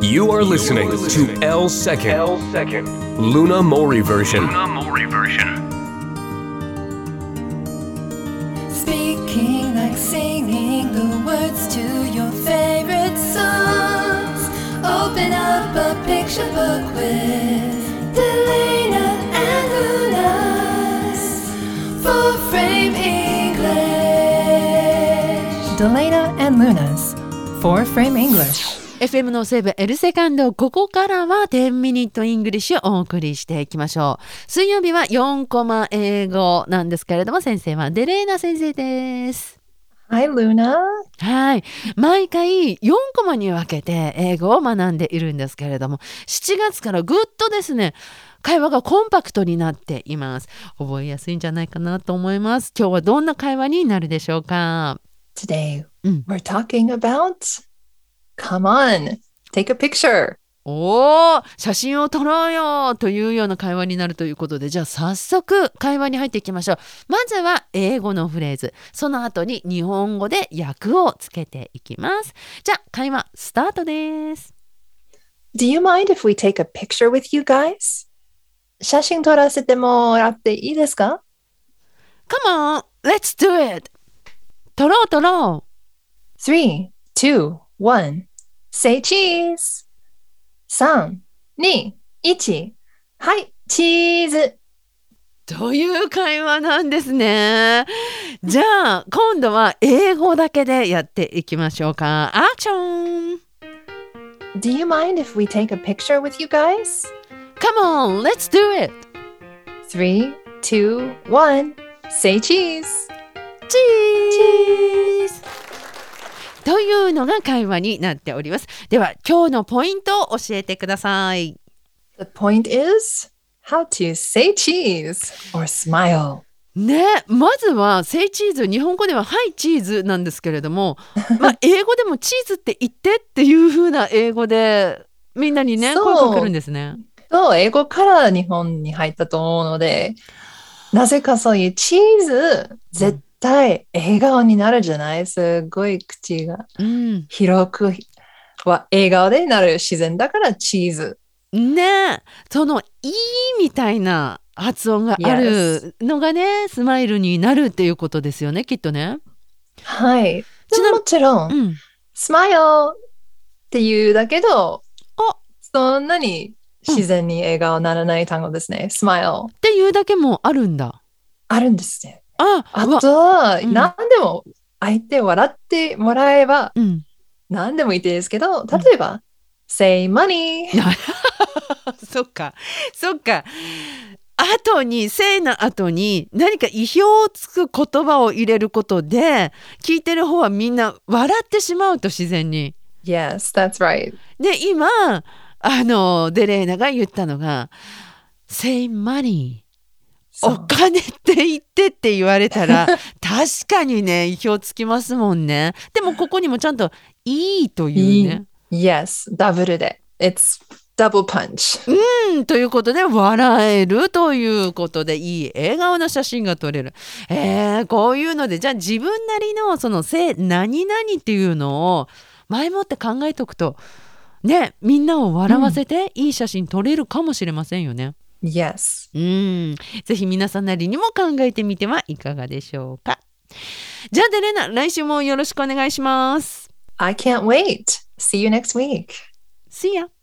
You are listening to L Second Luna Mori version. Speaking like singing the words to your favorite songs. Open up a picture book with Delana and Luna's Four-Frame English. Delana and Luna's Four-Frame English.FM の西部エルセカンド、ここからは10ミニットイングリッシュをお送りしていきましょう。水曜日は4コマ英語なんですけれども、先生はデレーナ先生です。 Hi, Luna. はい。毎回4コマに分けて英語を学んでいるんですけれども、7月からぐっとですね、会話がコンパクトになっています。覚えやすいんじゃないかなと思います。今日はどんな会話になるでしょうか？ Today, we're talking about...Come on, take a picture. おー、写真を撮ろうよというような会話になるということで、じゃあ早速会話に入っていきましょう。まずは英語のフレーズ、その後に日本語で訳をつけていきます。じゃあ会話スタートです。 Do you mind if we take a picture with you guys? 写真撮らせてもらっていいですか？ Come on, let's do it. 撮ろう。 3, 2, 1 Say cheese! 3, 2, 1はい、チーズという会話なんですね。じゃあ今度は英語だけでやっていきましょうか。アクション！ Do you mind if we take a picture with you guys? Come on, let's do it! 3, 2, 1 Say cheese! チーズというのが会話になっております。では今日のポイントを教えてください。 The point is how to say cheese or smile. ね、まずはsay cheese、日本語でははいチーズなんですけれども、英語でもチーズって言ってっていう風な英語でみんなにね声かけるんですね。 そう、英語から日本に入ったと思うので、なぜかそういうチーズ絶対笑顔になるじゃない？すごい口が広くは笑顔でなる自然だからチーズ。 ね、そのいいみたいな発音があるのがね、スマイルになるっていうことですよね、きっとね。 はい。もちろん、スマイルっていうだけど、そんなに自然に笑顔にならない単語ですね。スマイルっていうだけもあるんだ。 あるんですね。あとは、何でも相手笑ってもらえば、何でもいいですけど、例えば、say money そっか後にsayの後に何か意表をつく言葉を入れることで聞いてる方はみんな笑ってしまうと自然に。 Yes, that's right. で今デレーナが言ったのが say money、お金って言ってって言われたら確かにね意表つきますもんね。でもここにもちゃんといいというね。 Yes, ダブルで It's double punch。 ということで笑えるということでいい笑顔の写真が撮れる。こういうのでじゃあ自分なりのその何々っていうのを前もって考えておくとね、みんなを笑わせていい写真撮れるかもしれませんよね。 Yes。 ぜひ皆さんなりにも考えてみてはいかがでしょうか。じゃあデレナ、来週もよろしくお願いします。 I can't wait. See you next week. See ya.